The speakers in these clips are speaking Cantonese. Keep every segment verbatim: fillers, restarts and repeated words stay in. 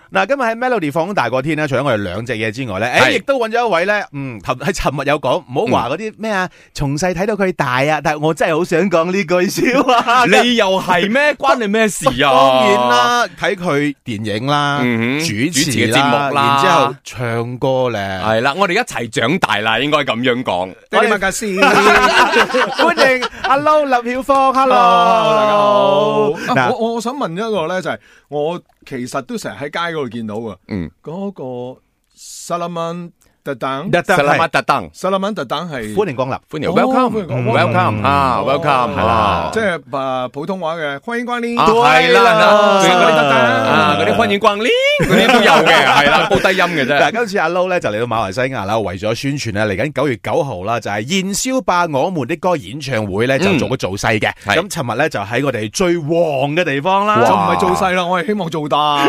嗱，今日喺 Melody 放大個天咧，除咗我哋兩隻嘢之外咧，誒，亦都揾咗一位咧，嗯，喺尋日有講，唔好話嗰啲咩啊，從細睇到佢大啊，但係我真係好想講呢句笑話。 你又係咩？關你咩事啊？ 當然啦，睇佢電影啦， 嗯、 主持嘅節目啦， 然之後唱歌咧， 係啦，我哋一齊長大啦，應該咁樣講。 我哋家先，歡迎阿 Low 林曉峰 ，Hello，大家好。 嗱，我我想問一個咧，就係我其實都成日喺街嗰度見到噶， 嗯， 嗰個薩拉曼特等， 薩拉曼特等， 薩拉曼特等係歡迎光臨， 歡迎 welcome，welcome 啊 welcome 係啦， 即係誒普通話嘅歡迎光臨， 係啦，嗰啲特等啊，嗰啲歡迎光臨，嗰啲都有嘅，係啦，高低音嘅啫。 嗱，今次阿 Low 咧就嚟到馬來西亞啦，為咗宣傳咧，嚟緊九月九號啦，就係燃燒吧我們的歌演唱會咧，就做個造勢嘅。咁尋日咧就喺我哋最旺嘅地方啦， 就唔係做細啦，我係希望做大。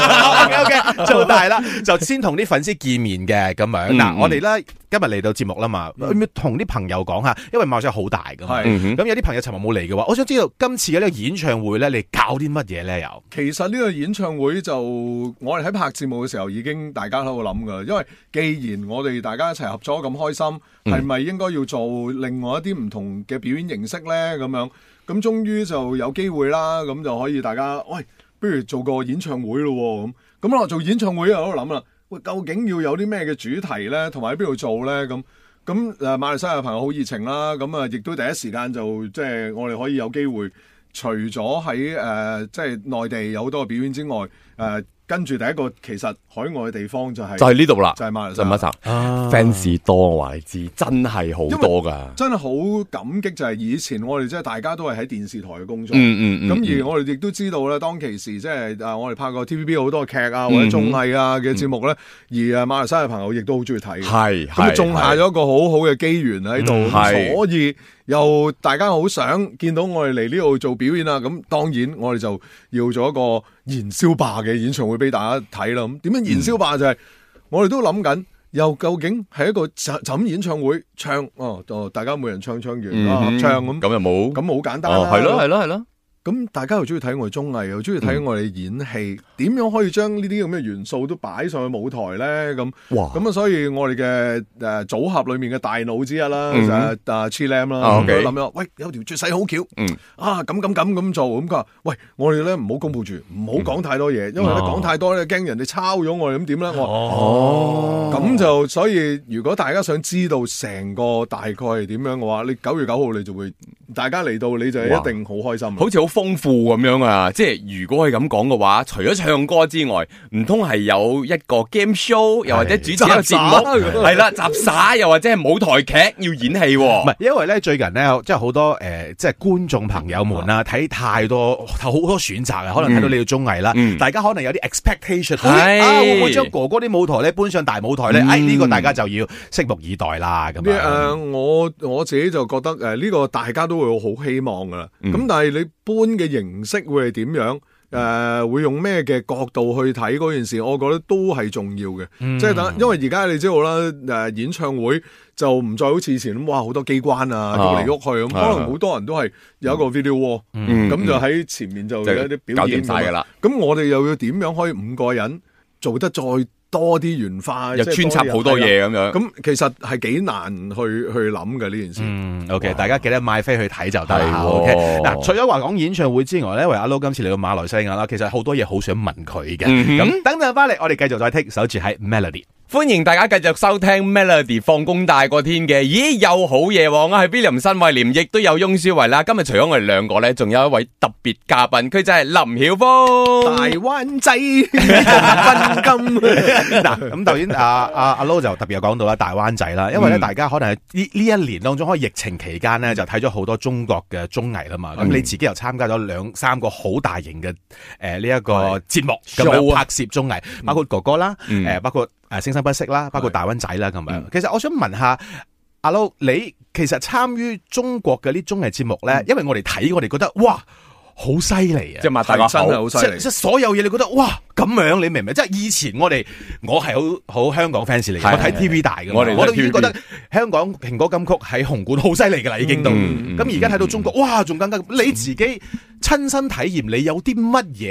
OK OK， 做大啦，就先同啲粉絲見面嘅咁樣。嗱，我哋咧今日嚟到節目啦嘛，同啲朋友講下，因為馬來西亞好大噶嘛，咁有啲朋友尋日冇嚟嘅話，我想知道今次嘅呢個演唱會咧，你搞啲乜嘢咧？又其實呢個演唱會就我哋喺拍節目嘅時候已經大家喺度諗噶，因為既然我哋大家一齊合作咁開心，係咪應該要做另外一啲唔同嘅表演形式咧？咁樣咁終於就有機會啦，咁就可以大家喂，不如做個演唱會咯咁。咁我做演唱會又喺度諗啦，喂，究竟要有啲咩嘅主題咧，同埋喺邊度做咧？咁咁誒，馬來西亞嘅朋友好熱情啦，咁啊，亦都第一時間就即係我哋可以有機會，除咗喺誒即係內地有好多嘅表演之外，誒、呃。跟住第一個其實海外嘅地方就係就係呢度啦， 就係馬來西亞。 啊、fans 多我話你知，真係好多噶， 真係好感激就係以前我哋即係大家都係喺電視台嘅工作，咁、 嗯嗯嗯、 而我哋亦都知道咧，當其時即係啊，我哋拍過 T V B 好多劇啊或者綜藝啊嘅節目咧，嗯、而啊馬來西亞嘅朋友亦都好中意睇， 係咁種下咗一個好好嘅機緣喺度， 嗯、 所以又大家好想見到我哋嚟呢度做表演啊，咁當然我哋就要做一個燃燒吧嘅演唱會俾大家睇啦。咁點樣燃燒吧就係、是嗯、我哋都諗緊，又究竟係一個就咁演唱會唱哦，大家每人唱唱完啊、嗯、合唱咁， 咁又冇咁好簡單啦， 係咯係咯係咯。 咁大家又中意睇我哋綜藝，又中意睇我哋演戲，點、嗯、樣可以將呢啲咁嘅元素都擺上去舞台咧？咁，咁啊，所以我哋嘅誒組合裏面嘅大腦之一啦，嗯、就係阿 Chilam 啦，咁諗咗，喂，有條絕世好橋，嗯、啊，咁咁咁咁做，咁佢話，喂，我哋咧唔好公佈住，唔好講太多嘢，因為咧講太多咧，驚人哋抄咗我哋，咁點咧？我話哦，咁就所以，如果大家想知道成個大概係點樣嘅話，你九月九號你就會，大家嚟到你就一定好開心， 好似好豐富咁樣啊！即係如果係咁講嘅話，除咗唱歌之外，唔通係有一個 game show，又或者主持一個節目，係啦，雜耍，又或者係舞台劇要演戲？唔係， 因為咧最近咧，即係好多誒、呃，即係觀眾朋友們啦，睇太多好多選擇啊，可能睇到你嘅綜藝啦，嗯、大家可能有啲 expectation，係、嗯、啊，會唔會將哥哥啲舞台咧搬上大舞台咧？嗯、哎，呢、這個大家就要拭目以待啦。咁樣誒， 我我自己就覺得誒，呢、這個大家都會好希望噶啦。咁、嗯、但係你搬嘅形式會係點樣？誒、呃，會用咩嘅角度去睇嗰件事？我覺得都係重要嘅。嗯、即係等，因為而家你知道啦，誒、呃，演唱會就唔再好似以前咁，哇，好多機關啊，喐嚟喐去咁，可能好多人都係有一個 video wall，咁、嗯嗯、就喺前面就有一啲表演晒噶啦。咁我哋又要點樣可以五個人做得再多啲元化， 又穿插好多嘢咁樣， 咁其實係幾難去去諗嘅呢件事。 嗯 ，OK， 大家記得買飛去睇就得啦。OK， 嗱，除咗話講演唱會之外咧，因為阿 Low 今次嚟到馬來西亞啦，其實好多嘢好想問佢嘅。咁、嗯、等陣翻嚟，我哋繼續再聽，守住喺 Melody。 歡迎大家繼續收聽 Melody 放工大過天嘅，咦，有好嘢喎！我係 William 新慧廉，亦都有翁舒維啦。今日除咗我哋兩個咧，仲有一位特別嘉賓，佢就係林曉峰， 大灣仔分金。 嗱，咁頭先阿阿阿 Low 就特別有講到啦，大灣仔啦，因為咧大家可能係呢呢一年當中，可能疫情期間咧就睇咗好多中國嘅綜藝啦嘛。咁、嗯、你自己又參加咗兩三個好大型嘅誒呢一個節目咁樣拍攝綜藝，包括哥哥啦，誒、嗯、包括。誒，聲生不息啦，包括大灣仔啦，咁樣。嗯、其實我想問下阿 Low，你其實參與中國嘅啲綜藝節目咧，嗯、因為我哋睇，我哋覺得哇，好犀利啊！ 即係擘大個口， 真係好犀利。 即係所有嘢，你覺得哇咁樣，你明唔明？即係以前我哋，我係好好香港 fans 嚟嘅，我睇 T V 大嘅，我哋我都已經覺得香港蘋果金曲喺紅館好犀利噶啦，已經都。咁而家睇到中國，哇，仲更加。你自己親身體驗，你有啲乜嘢感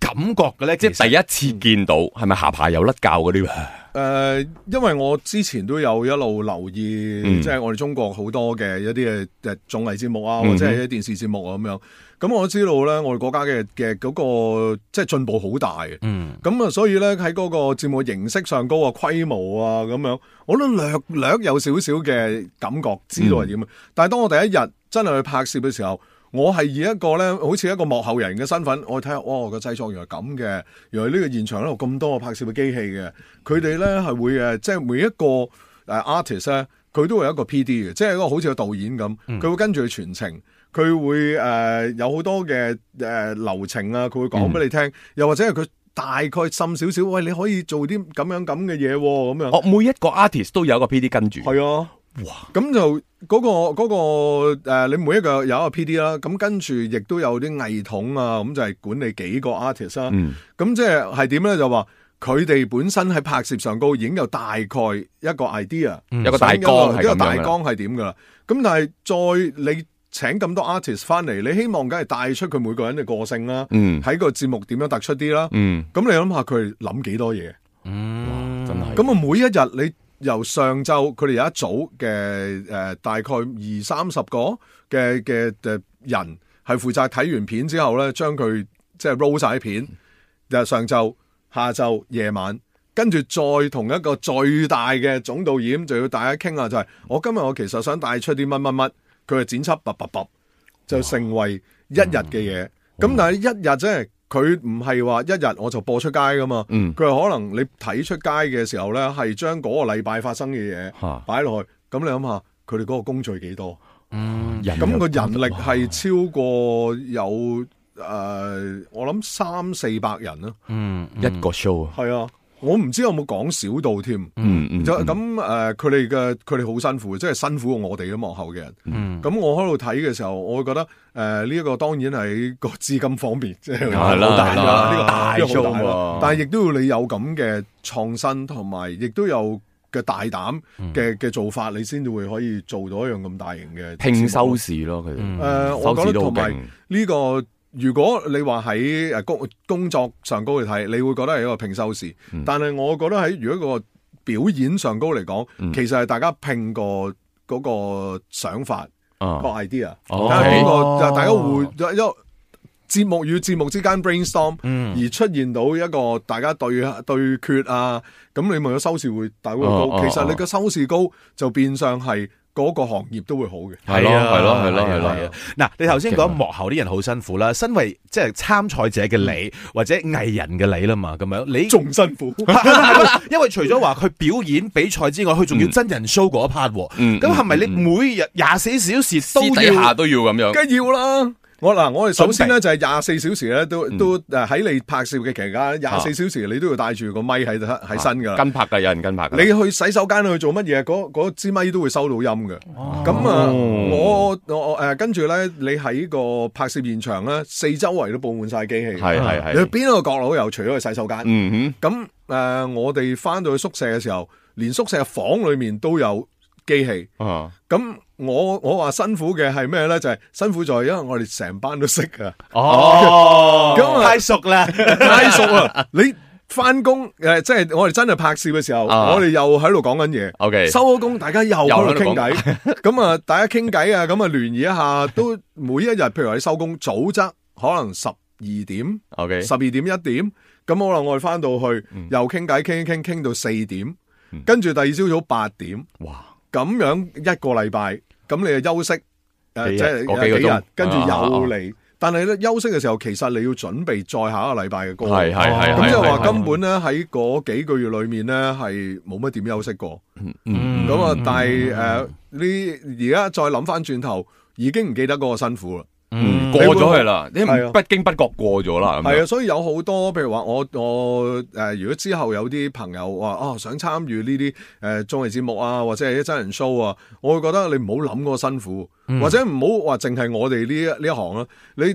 感覺嘅咧？ 即係第一次見到，係咪下巴有甩臼嗰啲？ 誒、呃，因為我之前都有一路留意，嗯、即係我哋中國好多嘅一啲嘅誒綜藝節目啊，或者係一啲電視節目啊咁樣。咁我知道咧，我哋國家嘅嘅嗰個即係進步好大嘅。嗯。咁啊，所以咧喺嗰個節目形式上高啊、規模啊咁樣，我都略略有少少嘅感覺，知道係點。嗯、但係當我第一日真係去拍攝嘅時候，我係以一個咧，好似一個幕後人嘅身份，我睇下，哇個製作原來咁嘅，原來呢個現場咧有咁多個拍攝嘅機器嘅，佢哋咧係會誒，即係每一個誒 artist 咧，佢都會有一個 P D 嘅，即係一個好似個導演咁，佢、嗯、會跟住去傳情，佢會誒、呃、有好多嘅誒、呃、流程啊，佢會講俾你聽，嗯、又或者係佢大概滲少少，喂，你可以做啲咁樣咁嘅嘢咁樣。 哦，每一個 artist 都有一個 P D 跟住。係啊。哇！咁就嗰、那個嗰、那個誒、呃，你每一個有一個 P D 啦，咁跟住亦都有啲藝統啊，咁就係管理幾個 artist 啦、啊。咁、嗯、即係係點咧？就話佢哋本身喺拍攝上高已經有大概一個 idea，、嗯、 有個大綱， 一個大綱係點噶啦。咁但係再你請咁多 artist 翻嚟，你希望梗係帶出佢每個人嘅個性啦。喺、嗯、個節目點樣突出啲啦。咁、嗯、你諗下佢諗幾多嘢？ 嗯，真係。 咁啊，每一日你。由上晝佢哋有一組嘅誒、呃，大概二三十個嘅嘅誒人係負責睇完片之後咧，將佢即係 roll 晒啲片。就上晝、下晝、夜晚，跟住再同一個最大嘅總導演就要大家傾下，就係、是、我今日我其實想帶出啲乜乜乜，佢係剪輯卜卜卜，就成為一日嘅嘢。咁、嗯、但係一日即係。佢唔係話一日我就播出街噶嘛，佢係、嗯、可能你睇出街嘅時候咧，係將嗰個禮拜發生嘅嘢擺落去，咁、啊、你諗下佢哋嗰個工序幾多？嗯，咁個人力係超過有誒、呃，我諗三四百人啦。嗯， 一個 show 啊， 係啊。我唔知有冇講少到添，嗯嗯，就咁誒，佢哋嘅佢哋好辛苦，即係辛苦過我哋啲幕後嘅人。嗯，咁我喺度睇嘅時候，我會覺得誒呢一個當然係個資金方面，即係好大啦，呢個大 show 啊，但係亦都要你有咁嘅創新，同埋亦都有嘅大膽嘅嘅做法，你先至會可以做到一樣咁大型嘅拼收視咯。佢哋誒，我覺得同埋呢個。如果你話喺誒工工作上高去睇，你會覺得係一個拼收視。嗯、但係我覺得喺如果個表演上高嚟講，嗯、其實係大家拼個嗰個想法、啊、個 idea，睇下邊個大家會一節目與節目之間 brainstorm，、嗯、而出現到一個大家對對決啊，咁你咪個收視會大會高。啊、其實你個收視高就變相係。嗰個行業都會好嘅， 係咯係咯係咯係咯。 嗱，你頭先講幕後啲人好辛苦啦，身為即係參賽者嘅你，或者藝人嘅你啦嘛，咁樣你仲辛苦， 因為除咗話佢表演比賽之外，佢仲要真人 show 嗰一 part。咁係咪你每日廿四小時都要？私底下都要咁樣？ 梗要啦。我嗱，我哋首先咧就係廿四小時咧，都都誒喺你拍攝嘅期間，廿四小時你都要帶住個咪喺喺身噶啦。 跟拍噶，有人跟拍。 你去洗手間去做乜嘢？嗰嗰支咪都會收到音嘅。咁啊，我我誒跟住咧，你喺個拍攝現場咧，四周圍都佈滿晒機器。 係係係。 你邊一個角落有？除咗去洗手間。 嗯哼。 咁誒，我哋翻到去宿舍嘅時候，連宿舍房裏面都有機器。啊。咁。我我話辛苦嘅係咩咧？就係、是、辛苦在，因為我哋成班都識噶。 哦，咁太熟啦， 太熟啦！你翻工誒，即係我哋真係拍攝嘅時候，啊、我哋又喺度講緊嘢。O K， 收咗工，大家又喺度傾偈。咁啊，大家傾偈啊，咁啊聯誼一下，都每一日，譬如話你收工早則可能十二點，O K， 十二點一點，咁可能我哋翻到去、嗯、又傾偈，傾一傾，傾到四點，跟住第二朝早八點，哇！咁樣一個禮拜。咁你就休息，誒、呃，即係幾日，跟住又嚟。啊、但係咧休息嘅時候，其實你要準備再下一個禮拜嘅歌。係係係。咁即係話根本咧喺嗰幾個月裏面咧係冇乜點休息過。嗯嗯。咁啊，但係誒，你而家再諗翻轉頭，已經唔記得嗰個辛苦啦。 嗯，過咗去啦，你不經不覺過咗啦。 係啊，所以有好多，譬如話我我誒、呃，如果之後有啲朋友話哦想參與呢啲誒綜藝節目啊，或者係啲真人 show 啊，我會覺得你唔好諗嗰個辛苦，嗯、或者唔好話淨係我哋呢一呢一行啦，你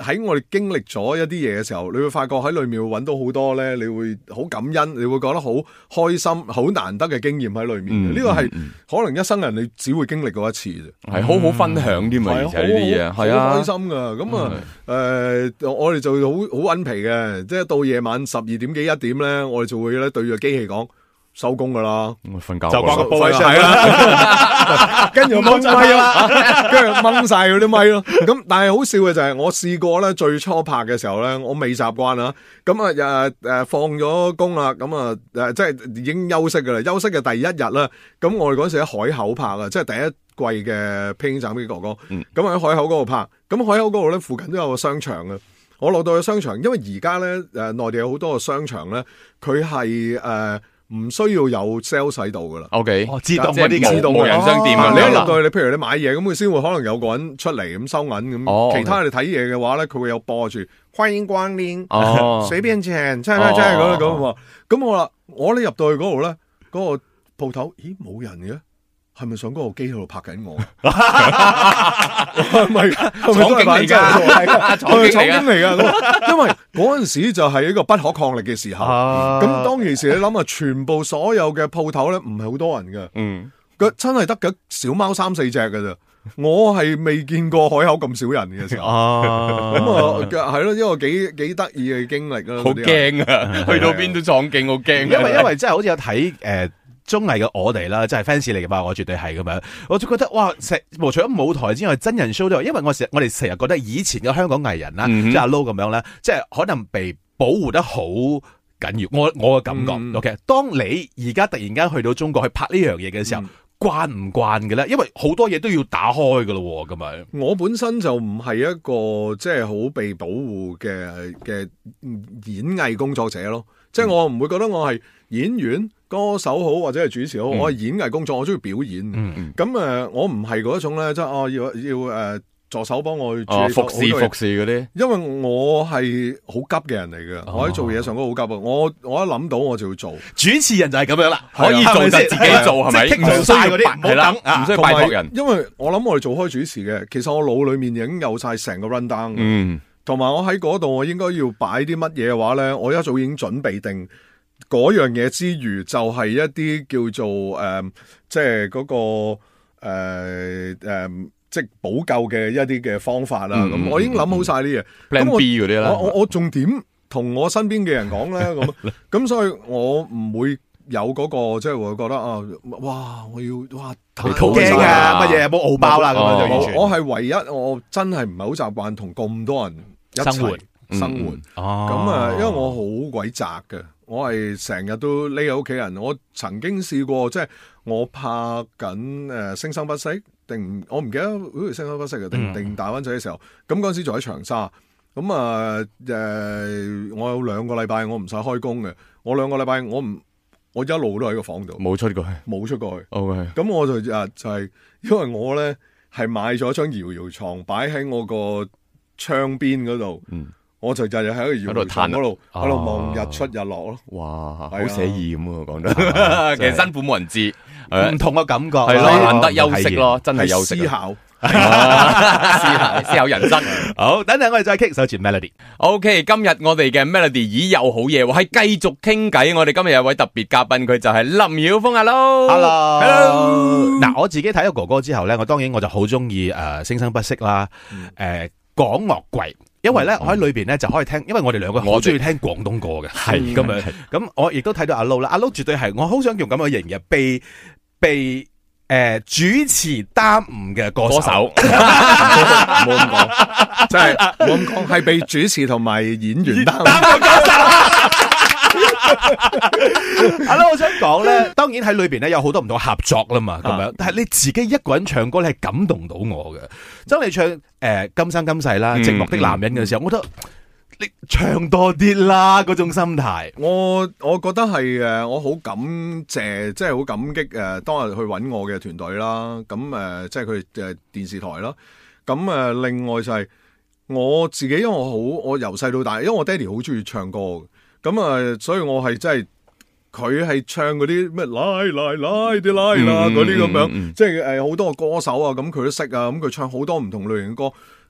喺我哋經歷咗一啲嘢嘅時候，你會發覺喺裏面會揾到好多咧，你會好感恩，你會覺得好開心、好難得嘅經驗喺裏面。呢、嗯、個係、嗯、可能一生人你只會經歷過一次啫，係、 嗯、好好分享啲嘛，而且呢啲嘢係啊， 好開心噶。咁啊，誒，我哋就好好穩皮嘅，即係到夜晚十二點幾一點咧，我哋就會咧對住機器講。收工噶啦， 瞓覺就掛個波係啦，跟住掹咪咯，跟住掹晒嗰啲咪咯。咁但係好笑嘅就係我試過咧，最初拍嘅時候咧，我未習慣啊。咁啊誒誒放咗工啦，咁啊誒即係已經休息噶啦。休息嘅第一日啦，咁我哋嗰時喺海口拍啊，即係第一季嘅《披荊斬棘哥哥》。咁喺海口嗰度拍，咁海口嗰度咧附近都有個商場啊。我落到去商場，因為而家咧誒內地有好多個商場咧，佢係誒。唔需要有 sales 喺度噶啦 ，OK， 哦，自動嗰啲自動無人商店啊！ 你一入到去，你譬如你買嘢咁，佢先會可能有個人出嚟咁收銀咁。哦、其他你睇嘢嘅話咧，佢會有播住歡迎光臨，哦，隨便請，真係真係咁咁話。咁我話我咧入到去嗰度咧，嗰、嗰個鋪頭，咦冇人嘅。係咪上嗰部機喺度拍緊我？係咪廠警嚟噶？廠警嚟噶，因為嗰陣時就係一個不可抗力嘅時候。咁、啊、當其時你諗下，全部所有嘅鋪頭咧，唔係好多人嘅。嗯，佢真係得嘅小貓三四隻嘅啫。我係未見過海口咁少人嘅時候。咁啊，係咯，一個幾幾得意嘅經歷啦。 好驚啊！去到邊都廠警，好驚。 因為因為真係好似有睇誒。呃綜藝嘅我哋啦，即係 fans 嚟嘅嘛，我絕對係咁樣。我就覺得哇，成除咗舞台之外，真人 show 都，因為我成我哋成日覺得以前嘅香港藝人啦，嗯、即係阿 Low 咁樣咧，即係可能被保護得好緊要。我我嘅感覺、嗯、，OK。當你而家突然間去到中國去拍呢樣嘢嘅時候，嗯、慣唔慣嘅咧？因為好多嘢都要打開噶咯，咁樣。 我本身就唔係一個即係好被保護嘅嘅演藝工作者咯，即係我唔會覺得我係演員。歌手好或者係主持好，嗯、我係演藝工作，我中意表演。咁誒、嗯嗯，我唔係嗰種咧，即係哦要要誒、呃、助手幫我去處理、 哦、服侍服侍嗰啲。因為我係好急嘅人嚟嘅，哦、我喺做嘢上都好急啊！我我一諗到我就要做。 主持人就係咁樣啦， 可以做就自己做，係咪？唔需要嗰啲，係啦，唔需要拜託人。 因為我諗我哋做開主持嘅，其實我腦裏面已經有晒成個 run down。嗯，同埋我喺嗰度，我應該要擺啲乜嘢嘅話咧，我一早已經準備定。嗰樣嘢之餘，就係、是、一啲叫做誒、呃，即係嗰、那個誒誒、呃呃，即係補救嘅一啲嘅方法啦。咁、嗯、我已經諗好晒啲嘢。 Plan B 嗰啲啦。 我我仲點同我身邊嘅人講咧？咁咁，所以我唔會有嗰、那個即係會覺得啊，哇！我要哇， 好驚啊！乜嘢冇敖包啦咁樣就完全。 我係唯一，我真係唔係好習慣同咁多人一齊生活。生活哦，咁啊，因為我好鬼宅嘅。我係成日都匿喺屋企人，我曾經試過，即係我拍緊誒《聲生不息》定我唔記得好似《聲生不息》嘅定定大灣仔嘅時候，咁嗰陣時仲喺長沙，咁啊誒，我有兩個禮拜我唔使開工嘅，我兩個禮拜我唔我一路都喺個房度， 冇出過去， 冇出過去。 OK， 咁我就啊就係、是、因為我咧係買咗張搖搖床擺喺我個窗邊嗰度。嗯，我就日日喺個搖搖床嗰度喺度望日出日落咯。 哇，好寫意咁啊！講得，其實辛苦冇人知， 唔同嘅感覺係咯，難得休息咯，真係休息。 思考， 思考思考人生。 好，等陣我哋再傾首前 Melody。 OK， 今日我哋嘅 Melody 已有好嘢喎，係繼續傾偈。我哋今日有位特別嘉賓，佢就係林曉峰。Hello，Hello。 嗱，我自己睇咗哥哥之後咧，我當然我就好中意誒《聲生不息》啦，誒廣樂櫃。因為咧，我喺裏邊咧就可以聽，因為我哋兩個好中意聽廣東歌嘅，係咁樣。咁我亦都睇到阿 Low 啦，阿 Low 絕對係我好想用咁嘅形容，被被誒主持耽誤嘅歌手。 冇咁講，真係冇咁講，係被主持同埋演員耽誤歌手。 阿 Low，我想講咧，當然喺裏邊咧有好多唔同合作啦嘛，咁樣。但係你自己一個人唱歌咧，係感動到我嘅。當你唱誒《今生今世》啦，《寂寞的男人》嘅時候，我覺得你唱多啲啦，嗰種心態。 我我覺得係誒，我好感謝，即係好感激誒，當日去揾我嘅團隊啦。咁誒，即係佢哋誒電視台啦。咁誒，另外就係我自己，因為我好，我由細到大，因為我爹哋好中意唱歌嘅。咁啊，所以我係真係佢係唱嗰啲咩拉拉拉啲拉啦嗰啲咁樣，即係誒好多個歌手啊，咁佢都識啊，咁佢唱好多唔同類型嘅歌，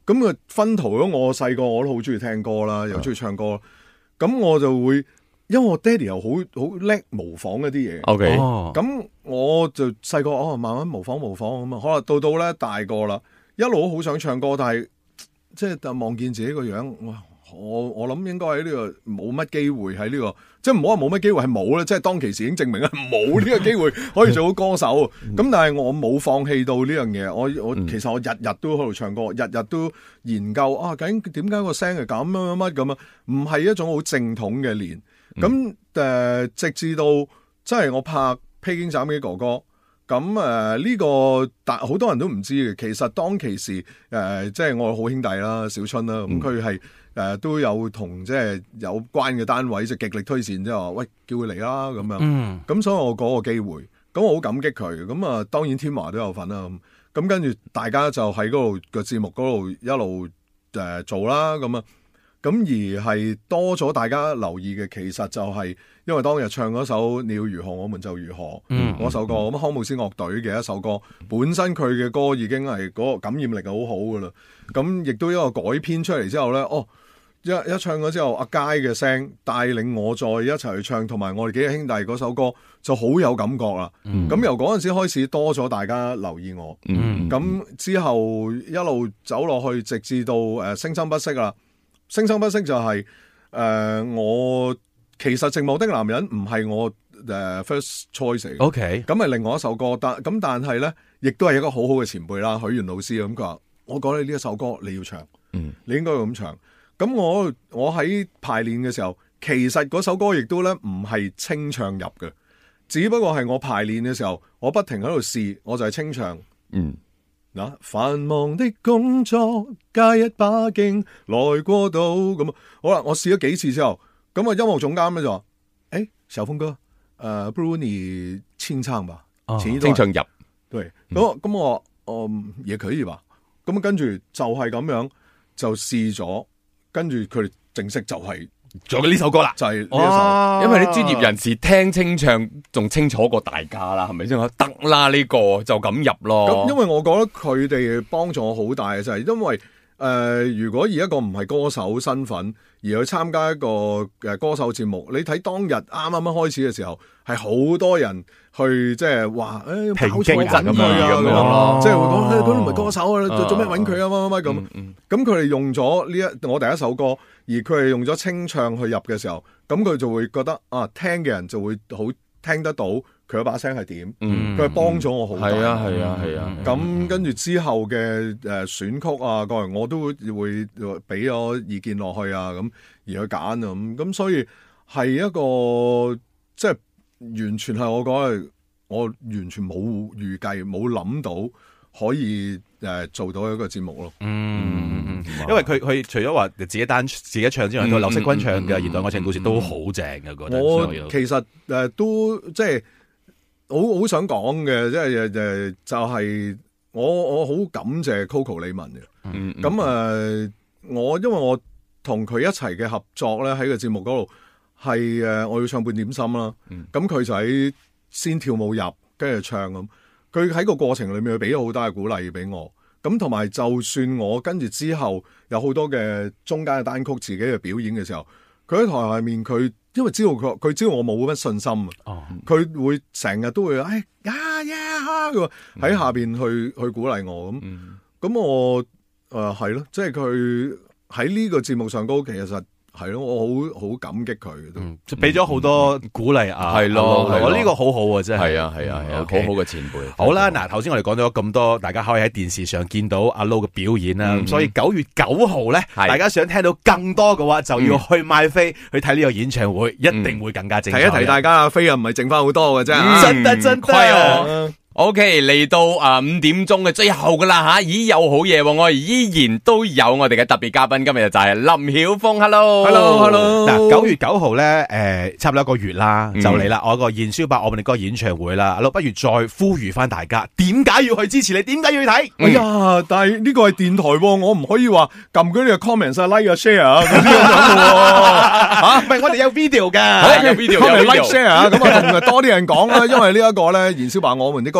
咁啊分途咗我細個我都好中意聽歌啦，又中意唱歌，咁我就會因為我爹哋又好好叻模仿一啲嘢。 O K， 咁我就細個哦慢慢模仿模仿咁啊，可能到到咧大個啦，一路都好想唱歌，但係即係望見自己個樣，哇！我我諗應該喺呢個冇乜機會喺呢個，即係唔好話冇乜機會係冇啦，即係當其時已經證明係冇呢個機會可以做到歌手。咁但係我冇放棄到呢樣嘢，我我其實我日日都喺度唱歌，日日都研究啊，究竟點解個聲係咁乜乜乜咁啊？唔係一種好正統嘅練。咁誒、呃，直至到即係我拍《披荊斬棘哥哥》。咁誒呢個但好多人都唔知嘅，其實當其時誒、呃、即係我好兄弟啦，小春啦，咁佢係誒都有同即係有關嘅單位即係極力推薦，即係話喂叫佢嚟啦咁樣。咁、嗯、所以我嗰個機會，咁我好感激佢。咁啊當然天華都有份啦。咁咁跟住大家就喺嗰度個節目嗰度一路誒、呃、做啦。咁啊咁而係多咗大家留意嘅，其實就係因為當日唱嗰首《你要如何我們就如何》嗰、嗯、首歌，咁、嗯、康姆斯樂隊嘅一首歌，本身佢嘅歌已經係嗰個感染力係好好噶啦。咁亦都一個改編出嚟之後咧，哦一一唱咗之後，阿佳嘅聲帶領我再一齊去唱，同埋我哋幾個兄弟嗰首歌就好有感覺啦。咁、嗯、由嗰陣時開始多咗大家留意我，咁、嗯、之後一路走落去，直至到誒、呃、聲生不息啦。聲生不息就係、是、誒、呃、我其實寂寞的男人唔係我誒、呃、first choice 嚟嘅 OK 咁係另外一首歌，但咁但係咧，亦都係一個好好嘅前輩啦，許願老師咁佢話：我講你呢一首歌你要唱，嗯，你應該要咁唱。咁我我喺排練嘅時候，其實嗰首歌亦都咧唔係清唱入嘅，只不過係我排練嘅時候，我不停喺度試，我就係清唱，嗯。嗱，繁忙的工作加一把勁來過到咁，好啦，我試咗幾次之後，咁啊音樂總監咧就話：，誒、欸，小峰哥，誒、呃，不如你清唱吧， 哦、清唱入， 對，咁咁我，嗯，也可以吧，咁跟住就係咁樣就試咗，跟住佢哋正式就係、是。 做嘅呢首歌啦， 就係呢一首， 因為啲專業人士聽清唱仲清楚過大家啦，係咪先？得啦，呢個就咁入咯。 咁因為我覺得佢哋幫助我好大嘅就係、是，因為誒、呃，如果以一個唔係歌手身份而去參加一個誒歌手節目，你睇當日啱啱啱開始嘅時候，係好多人去即係話誒， 評評價咁樣啊，即係會講誒，佢唔係歌手啊，做做咩揾佢啊，乜乜乜咁。咁佢哋用咗呢一我第一首歌，而佢係用咗清唱去入嘅時候，咁佢就會覺得啊，聽嘅人就會好聽得到佢嗰把聲係點，佢係幫咗我好大。 係啊係啊係啊。 咁跟住之後嘅誒選曲啊，各樣我都會會俾咗意見落去啊，咁而去揀啊，咁咁所以係一個即係完全係我覺得我完全冇預計冇諗到可以誒做到一個節目咯。 嗯嗯，因為佢佢除咗話自己單自己唱之外，佢劉惜君唱嘅《現代愛情故事》都好正嘅，覺得。 我其實誒都即係好好想講嘅，即係誒就係我我好感謝 Coco 李玟嘅。嗯，咁誒我因為我同佢一齊嘅合作咧喺個節目嗰度係誒我要唱半點心啦。咁佢就喺先跳舞入，跟住唱咁。佢喺個過程裏面，佢俾咗好多嘅鼓勵俾我。咁同埋，就算我跟住之後有好多嘅中間嘅單曲自己嘅表演嘅時候，佢喺台下面，佢因為知道佢，佢知道我冇乜信心啊。佢、哦、會成日都會誒呀呀咁喺下邊去去鼓勵我咁。咁、嗯、我誒係咯，即係佢喺呢個節目上高，其實。係咯，我好好感激佢， 嗯，就俾咗好多鼓勵啊， 係咯， 我呢個好好啊，真係， 係啊，係啊，係啊，好好嘅前輩。 好啦，嗱，頭先我哋講咗咁多，大家可以喺電視上見到阿 Low 嘅表演啦，咁所以九月九號咧，大家想聽到更多嘅話，就要去買飛去睇呢個演唱會，一定會更加精彩。 提一提大家啊，飛啊唔係剩翻好多嘅啫， 真得真得。 OK， 嚟到啊五點鐘嘅最後噶啦吓，咦有好嘢，我哋依然都有我哋嘅特別嘉賓，今日就係林曉峰 ，Hello，Hello，Hello。 嗱，九月九號咧，誒，差唔多一個月啦，就嚟啦，我個燃燒吧我們的歌演唱會啦，阿 Low 不如再呼籲翻大家，點解要去支持你？點解要去睇？ 哎呀，但係呢個係電台，我唔可以話撳嗰啲嘅 comment 啊、like 啊、share 啊咁樣嘅，吓，唔係我哋有 video 噶， 有 video， comment like share 啊，咁啊同多啲人講啦，因為呢一個咧燃燒吧我們的歌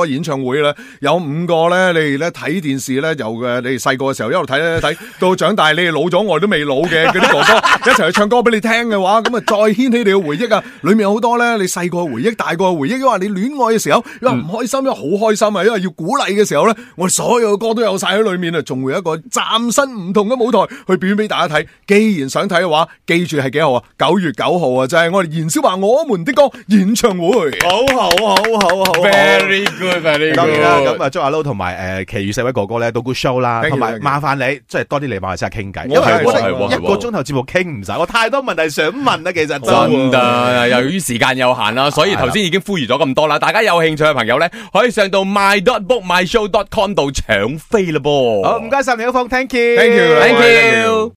個演唱會咧，有五個咧，你哋咧睇電視咧，由嘅你哋細個嘅時候一路睇咧睇，到長大你哋老咗，我哋都未老嘅嗰啲哥哥一齊去唱歌俾你聽嘅話，咁啊再掀起你嘅回憶啊！裏面有好多咧，你細個嘅回憶、大個嘅回憶，因為你戀愛嘅時候，因為唔開心，因為好開心啊，因為要鼓勵嘅時候咧，我哋所有嘅歌都有晒喺裏面啊，仲會有一個嶄新唔同嘅舞台去表演俾大家睇。既然想睇嘅話，記住係幾號啊？九月九號啊，就係、是、我哋燃燒吧我們的歌演唱會。 好好好好好 ，very good，very good。 當然啦，咁啊祝阿 Low 同埋誒其餘四位哥哥咧都 good show 啦，同埋麻煩你即係多啲嚟馬來西亞傾偈，因為我哋一個鐘頭節目傾唔晒，我太多問題想問啦，其實真㗎，由於時間有限啦，所以頭先已經呼籲咗咁多啦，大家有興趣嘅朋友咧，可以上到 my dot book my show dot com 度搶飛啦噃。 好，唔該晒你，一峰 ，thank you，thank you，thank you。